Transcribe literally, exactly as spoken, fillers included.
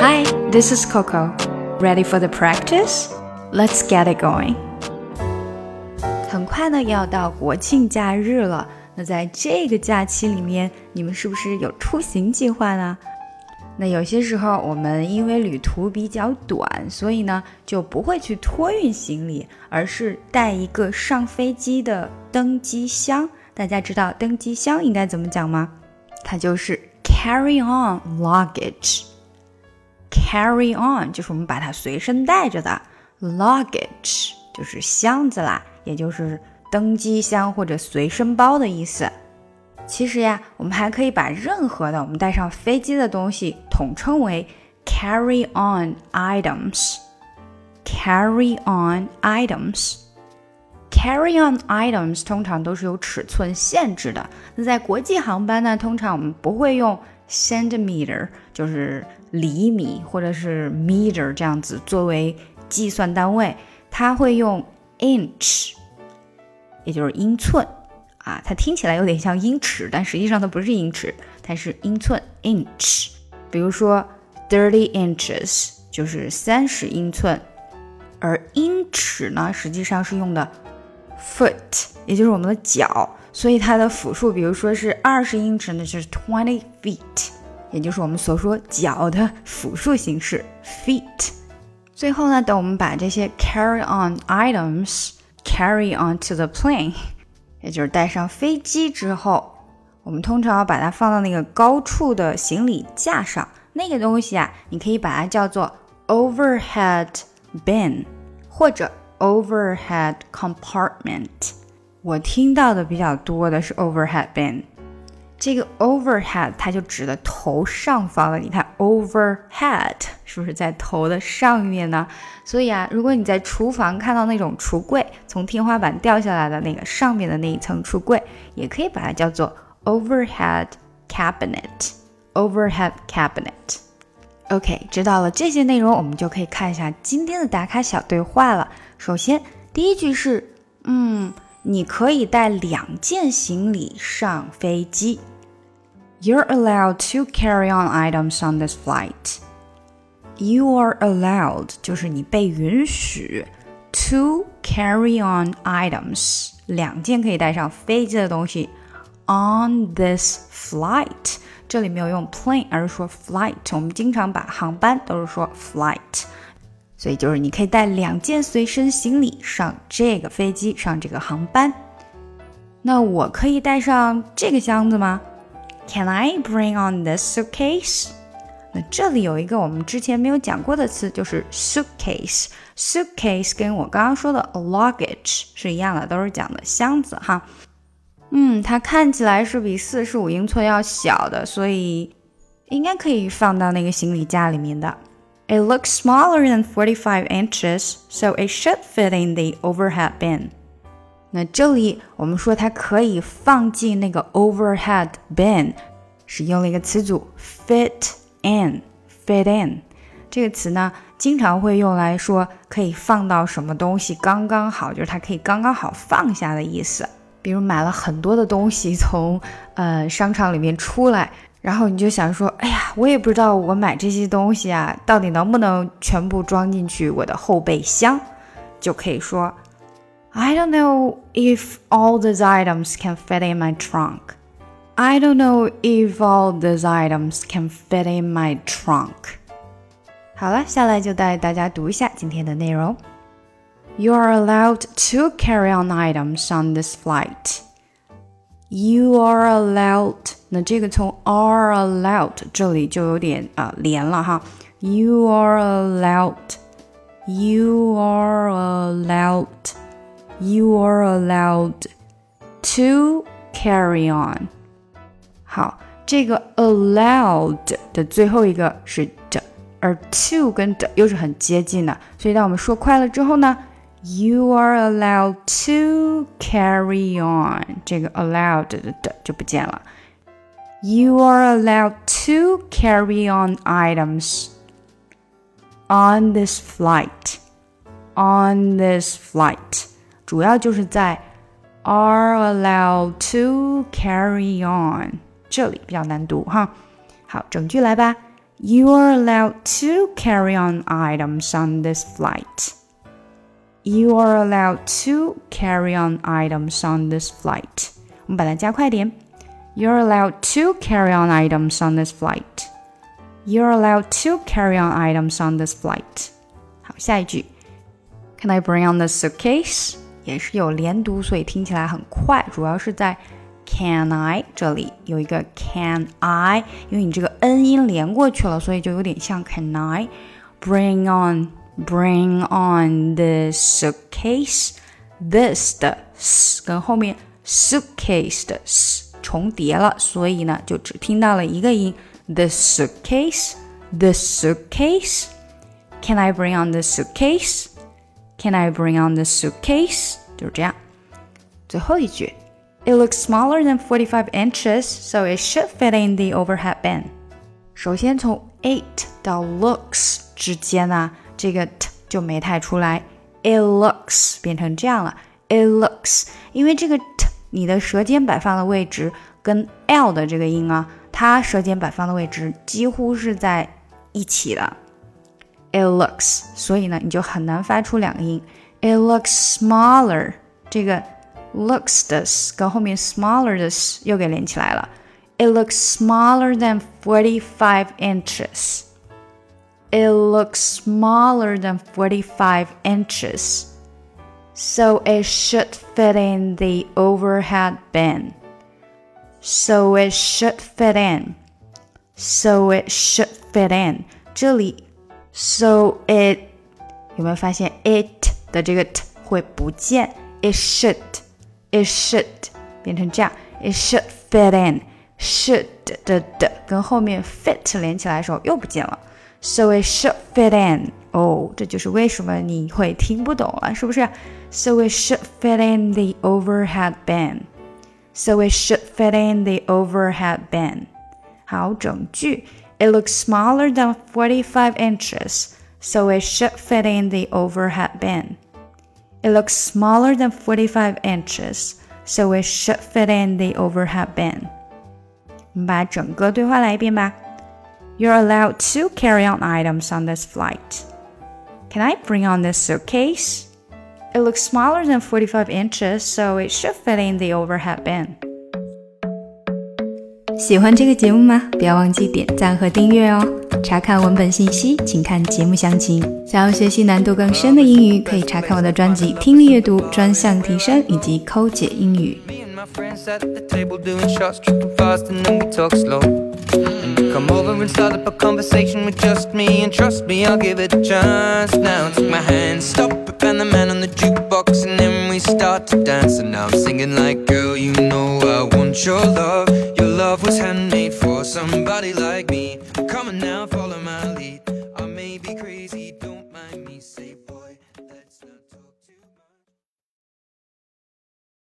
Hi, this is Coco. Ready for the practice? Let's get it going. 很快呢要到国庆假日了，那在这个假期里面，你们是不是有出行计划呢？那有些时候我们因为旅途比较短，所以呢就不会去托运行李，而是带一个上飞机的登机箱。大家知道登机箱应该怎么讲吗？它就是 carry on luggage。 carry on 就是我们把它随身带着的， luggage 就是箱子啦，也就是登机箱或者随身包的意思。其实呀，我们还可以把任何的我们带上飞机的东西统称为 carry on items。 carry on items Carry on items 通常都是有尺寸限制的。那在国际航班呢，通常我们不会用 centimeter 就是厘米或者是 meter 这样子作为计算单位，它会用 inch 也就是英寸啊，它听起来有点像英尺，但实际上它不是英尺，它是英寸 inch。 比如说 thirty inches 就是三十英寸，而英尺呢实际上是用的 foot 也就是我们的脚，所以它的复数比如说是二十英尺呢就是 twenty feet， 也就是我们所说脚的复数形式 feet。 最后呢，等我们把这些 carry on items carry onto the plane， 也就是带上飞机之后，我们通常要把它放到那个高处的行李架上，那个东西啊，你可以把它叫做 overhead bin 或者 overhead compartment。 我听到的比较多的是 overhead bin。 这个 overhead 它就指的头上方的，你看 overhead 是不是在头的上面呢？所以啊，如果你在厨房看到那种橱柜从天花板掉下来的那个上面的那一层橱柜，也可以把它叫做 overhead cabinet overhead cabinet。 OK， 知道了这些内容，我们就可以看一下今天的打卡小对话了。首先第一句是嗯，你可以带两件行李上飞机。 You're allowed to carry on items on this flight。 You are allowed 就是你被允许 to carry on items 两件可以带上飞机的东西 on this flight， 这里没有用 plane 而是说 flight， 我们经常把航班都是说 flight， 所以就是你可以带两件随身行李上这个飞机，上这个航班。那我可以带上这个箱子吗？ Can I bring on this suitcase？ 那这里有一个我们之前没有讲过的词，就是 suitcase。 suitcase 跟我刚刚说的 luggage 是一样的，都是讲的箱子哈。嗯，它看起来是比四十五英寸要小的，所以应该可以放到那个行李架里面的。It looks smaller than forty-five inches, so it should fit in the overhead bin. 那这里我们说它可以放进那个 overhead bin， 是用了一个词组 fit in fit in 这个词呢经常会用来说可以放到什么东西刚刚好，就是它可以刚刚好放下的意思。比如买了很多的东西从呃商场里面出来，然后你就想说，哎呀，我也不知道我买这些东西啊到底能不能全部装进去我的后备箱，就可以说 I don't know if all these items can fit in my trunk. I don't know if all these items can fit in my trunk. 好了，下来就带大家读一下今天的内容。 You are allowed to carry on items on this flight. You are allowed， 那这个从 are allowed 这里就有点呃连了哈。You are allowed You are allowed You are allowed to carry on。 好，这个 allowed 的最后一个是的，而 to 跟的又是很接近的，所以当我们说快了之后呢， You are allowed to carry on， 这个 allowed 的的就不见了。 You are allowed to carry on items on this flight on this flight， 主要就是在 are allowed to carry on 这里比较难读哈。好，整句来吧。 You are allowed to carry on items on this flight. You are allowed to carry on items on this flight. 我们把它加快点。You're allowed to carry on items on this flight. You're allowed to carry on items on this flight. 好，下一句。Can I bring on the suitcase? 也是有连读，所以听起来很快，主要是在 Can I 这里有一个 Can I， 因为你这个 N 音连过去了，所以就有点像 Can I bring on bring on the suitcase? This 的 s 跟后面 suitcase 的 s 重叠了，所以呢就只听到了一个音 The suitcase The suitcase Can I bring on the suitcase? Can I bring on the suitcase? 就是这样。最后一句 It looks smaller than forty-five inches, so it should fit in the overhead bin. 首先从 it 到 looks 之间呢，这个 t 就没太出来 It looks 变成这样了 It looks 因为这个 t 你的舌尖摆放的位置跟 l 的这个音啊，它舌尖摆放的位置几乎是在一起的It looks 所以呢你就很难发出两个音 It looks smaller 这个 looks 的 s 跟后面 smaller 的 s 又给连起来了 It looks smaller than forty-five inches It looks smaller than forty-five inches So it should fit in the overhead bin So it should fit in So it should fit in 这里So it 有没有发现 it 的这个 t 会不见 It should It should 变成这样 It should fit in Should 的的跟后面 fit 连起来的时候又不见了 So it should fit in 哦，这就是为什么你会听不懂了，是不是 So it should fit in the overhead bin So it should fit in the overhead bin 好，整句It looks smaller than forty-five inches, so it should fit in the overhead bin. It looks smaller than forty-five inches, so it should fit in the overhead bin. 我们把整个对话来一遍吧。You're allowed to carry on items on this flight. Can I bring on this suitcase? It looks smaller than forty-five inches, so it should fit in the overhead bin.喜欢这个节目吗？不要忘记点赞和订阅哦！查看文本信息，请看节目详情。想要学习难度更深的英语，可以查看我的专辑《听力阅读专项提升》以及《抠解英语》。Come over and start up a conversation with just me And trust me, I'll give it a chance Now take my hand, stop it, and the man on the jukebox And then we start to dance And now I'm singing like, girl, you know I want your love Your love was handmade